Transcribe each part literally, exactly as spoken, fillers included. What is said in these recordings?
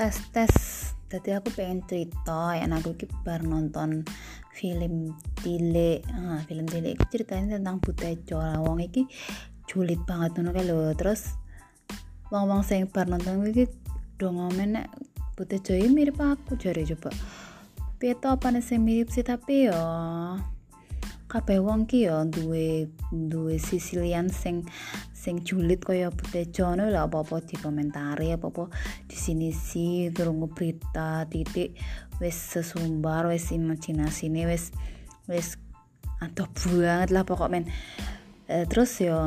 tes tes Tadi aku pengen cerita ya, aku iki bar nonton film Tile. Ah, film Tile itu ceritanya tentang Butejo. Lah wong iki julid banget ngono kae lho. Terus wong-wong sing bar nonton iki do ngomen nek Butejo iki mirip aku jare coba. Piye to apane sing mirip sih, tapi yo kabeh wong ki yo duwe duwe sisi liyan sing sing julid kaya Butejo ngono lho. Apa-apa dikomentari, apa-apa di sini sih turun berita titik wis sesumbar, wis imajinasine wis wis adoh banget lah pokok men. E, terus yo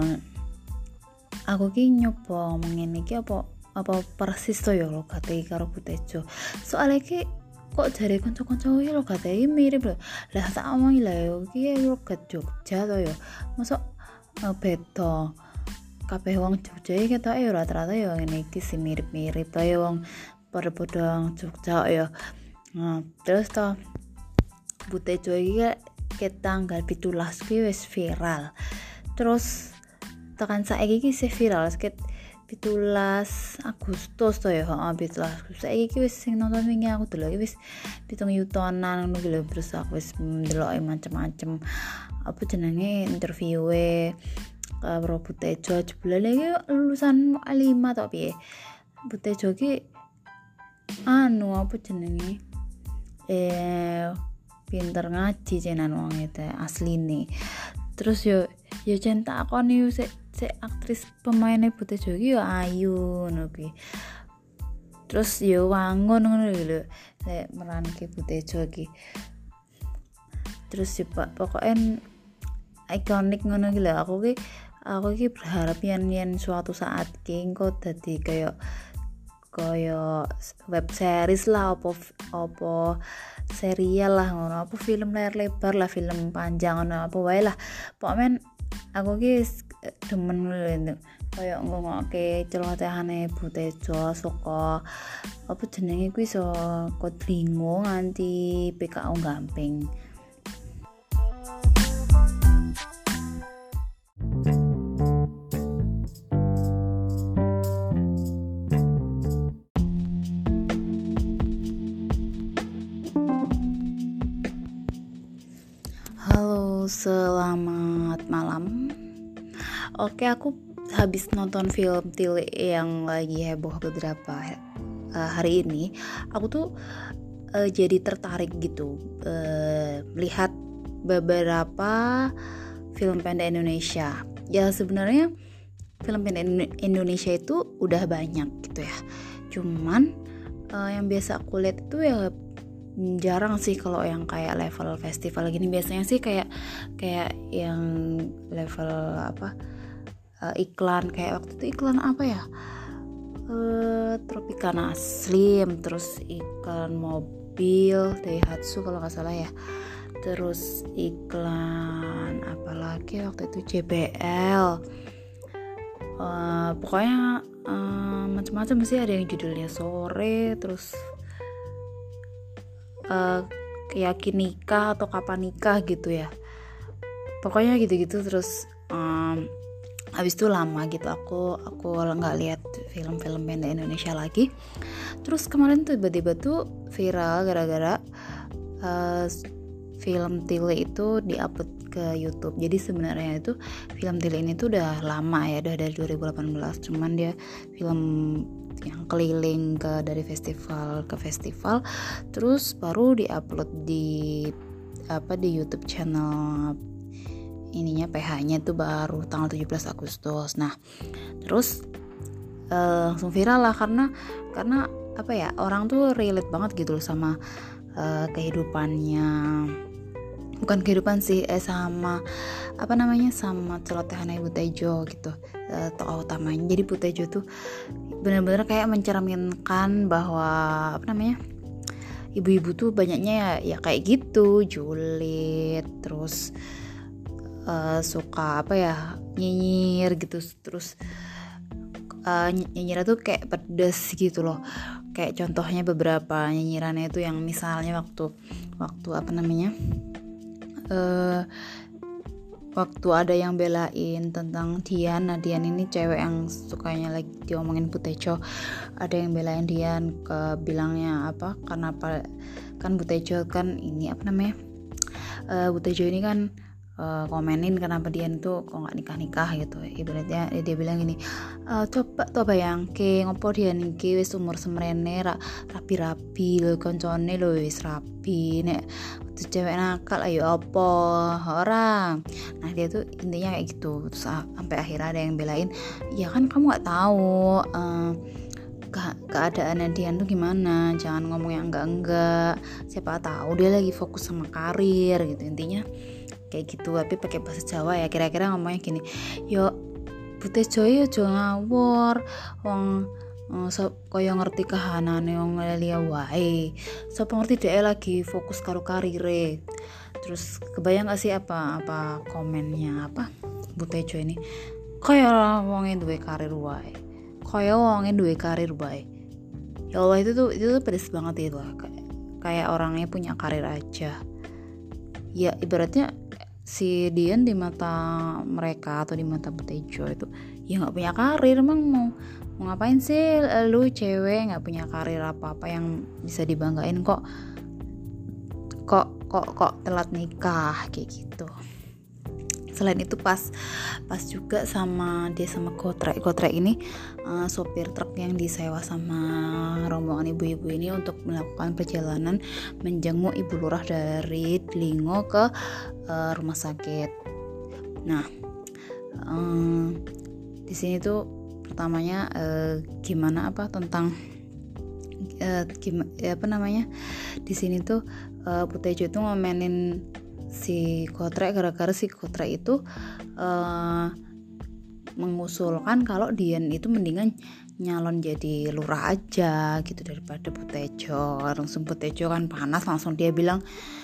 aku ki nyoba ngene iki apa apa persis to yo lo kate karo Butejo. Soale ki kok jare kanca-kanca iki lo kate mirip lho. Lah tak omongi lah yo iki lo ke Jogja to yo. Mosok uh, beda. Kabeh wong Jogja iki ketoke yo rata-rata yo ngene iki sing mirip-mirip to yo wong padha-padha Jogja yo. Nah, terus to Butejo iki ke tanggal pitulas ki wis viral. Terus tekan saiki iki sih viral sekitar pitulas Agustus to ya, heeh pitulas Agustus. Saiki iki wis sing nonton wingi aku delok iki wis pitung yutonan ngono ki lho. Terus aku wis ndeloki macem-macem apa jenenge interviewe karo Butejo. Jebule iki lulusan lima to piye. Butejo ki anu apa jenenge eh pinter ngaji cenan wong itu asline. Terus yo yo jen tak akoni sik sik aktris pemainnya Butejo iki yo ayu ngono kuwi. Terus yo wangun ngono lho lek meranke Butejo iki. Terus yo pokoknya ikonik ngono iki lho. Aku ki aku ki berharap yen yen suatu saat ki engko dadi kaya kaya web series lah apa apa serial lah ngono, apa film layar lebar lah, film panjang ngono apa wae lah. Pokoknya aku ki demen lho kaya ngonoke celotehane Butejo saka apa jenenge kuwi saka Dlingo nganti P K O Gamping. Halo, selamat malam. Oke, aku habis nonton film Tile yang lagi heboh beberapa uh, hari ini. Aku tuh uh, jadi tertarik gitu uh, melihat beberapa film pendek Indonesia. Ya sebenarnya film pendek Indonesia itu udah banyak gitu ya. Cuman uh, yang biasa aku lihat itu ya jarang sih kalau yang kayak level festival gini. Biasanya sih kayak kayak yang level apa uh, iklan kayak waktu itu iklan apa ya uh, Tropicana Slim, terus iklan mobil Daihatsu kalau nggak salah ya, terus iklan apa lagi waktu itu J B L. Uh, pokoknya uh, macam-macam sih, ada yang judulnya Sore, terus Uh, yakin nikah atau kapan nikah gitu ya, pokoknya gitu-gitu. Terus um, habis itu lama gitu aku aku nggak lihat film-film pendek Indonesia lagi. Terus kemarin tuh tiba-tiba tuh viral gara-gara uh, film Tile itu diupload ke YouTube. Jadi sebenarnya itu film Tile ini tuh udah lama ya, udah dari dua ribu delapan belas, cuman dia film yang keliling ke dari festival ke festival, terus baru diupload di apa di YouTube channel ininya P H-nya tuh baru tanggal tujuh belas Agustus. Nah, terus uh, langsung viral lah karena karena apa ya, orang tuh relate banget gitu loh sama uh, kehidupannya. Bukan kehidupan sih, eh sama apa namanya sama celotehan Butejo gitu, uh, tokoh utamanya. Jadi Butejo tuh benar-benar kayak mencerminkan bahwa apa namanya ibu-ibu tuh banyaknya ya, ya kayak gitu, julid, terus uh, suka apa ya nyinyir gitu, terus uh, nyinyirnya tuh kayak pedes gitu loh. Kayak contohnya beberapa nyinyirannya itu yang misalnya waktu waktu apa namanya uh, waktu ada yang belain tentang Dian. Nah Dian ini cewek yang sukanya lagi diomongin Butejo, ada yang belain Dian ke bilangnya apa, karena apa kan Butejo kan ini apa namanya uh, Butejo ini kan uh, komenin kenapa Dian tuh kok nggak nikah nikah gitu. Ibaratnya dia, dia bilang gini, uh, coba tuh bayangke ngopo Dian iki wis umur semrene ra, rapi-rapi lho koncone lho wis rapi nek tuh cewek nakal ayo apa orang. Nah dia tuh intinya kayak gitu. Terus sampai akhirnya ada yang belain, ya kan kamu nggak tahu uh, ke- keadaannya Dian tuh gimana, jangan ngomong yang enggak-enggak, siapa tahu dia lagi fokus sama karir gitu, intinya kayak gitu. Tapi pakai bahasa Jawa ya, kira-kira ngomongnya gini, yo Butejo yo aja ngawur wong uh, so, kaya ngerti kahanane wong liya wae, sapa ngerti dhek lagi fokus karo karire. Terus kebayang gak sih apa apa komennya apa Butejo ini, kaya wonge duwe karir wae, kaya wonge duwe karir wae. Ya Allah, itu tuh itu tuh pedes banget itu lah, kayak, kayak orangnya punya karir aja. Ya ibaratnya si Dian di mata mereka atau di mata Butejo itu ya nggak punya karir. Emang mau mau ngapain sih lu cewek nggak punya karir apa-apa yang bisa dibanggain, kok kok kok kok telat nikah kayak gitu. Selain itu pas pas juga sama dia sama Kotrek Kotrek ini uh, sopir truk yang disewa sama rombongan ibu-ibu ini untuk melakukan perjalanan menjenguk ibu lurah dari Delingo ke uh, rumah sakit. Nah um, di sini tuh pertamanya uh, gimana apa tentang uh, gimana apa namanya di sini tuh uh, Butejo itu ngomenin si Kotrek gara-gara si Kotrek itu uh, mengusulkan kalau Dian itu mendingan nyalon jadi lurah aja gitu daripada Butejo. Langsung Butejo kan panas, langsung dia bilang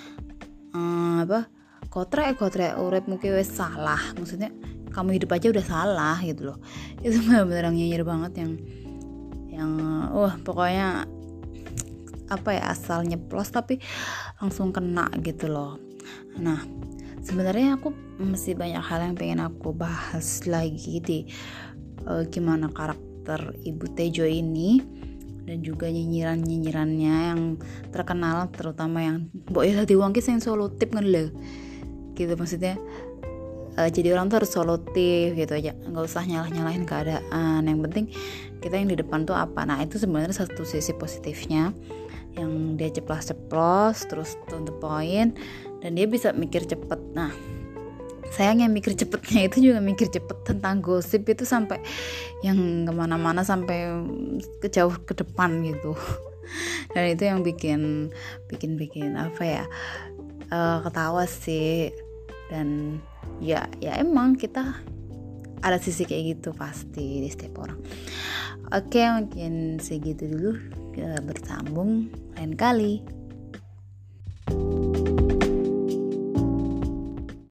ehm, apa Kotrek Kotrek urip mungkin wes salah, maksudnya kamu hidup aja udah salah gitu loh. Itu benar-benar nyinyir banget yang yang wah pokoknya apa ya, asal nyeplos tapi langsung kena gitu loh. Nah sebenarnya aku masih banyak hal yang pengen aku bahas lagi di uh, gimana karakter Ibu Tejo ini dan juga nyinyiran-nyinyirannya yang terkenal, terutama yang mbok ya dadi wong ki sing solutif ngono lho gitu. Maksudnya uh, jadi orang tuh harus solutif gitu aja, nggak usah nyalah-nyalahin keadaan, yang penting kita yang di depan tuh apa. Nah itu sebenarnya satu sisi positifnya, yang dia ceplos-ceplos terus to the point dan dia bisa mikir cepet. Nah sayangnya mikir cepetnya itu juga mikir cepet tentang gosip itu sampai yang kemana-mana sampai ke jauh ke depan gitu. Dan itu yang bikin bikin bikin apa ya uh, ketawa sih. Dan ya ya emang kita ada sisi kayak gitu pasti di setiap orang. Oke mungkin segitu dulu, kita bersambung lain kali.